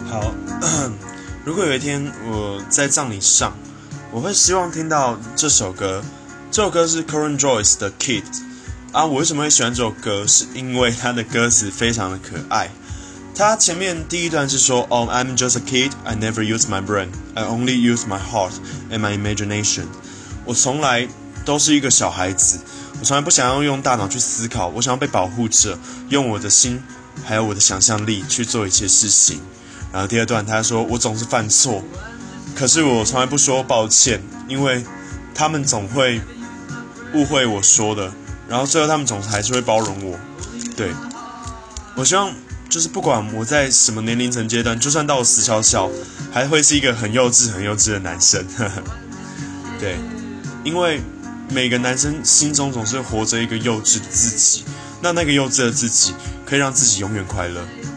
好，如果有一天我在葬礼上，我会希望听到这首歌。这首歌是 Coran Joyce 的 Kid 啊。我为什么会喜欢这首歌？是因为它的歌词非常的可爱。它前面第一段是说 "Oh, I'm just a kid. I never use my brain. I only use my heart and my imagination." 我从来都是一个小孩子，我从来不想要用大脑去思考，我想要被保护着，用我的心还有我的想象力去做一切事情。然后第二段他说我总是犯错，可是我从来不说抱歉，因为他们总会误会我说的，然后最后他们总是还是会包容我。对，我希望就是不管我在什么年龄层阶段，就算到我死翘翘，还会是一个很幼稚的男生。对，因为每个男生心中总是活着一个幼稚的自己，那个幼稚的自己可以让自己永远快乐。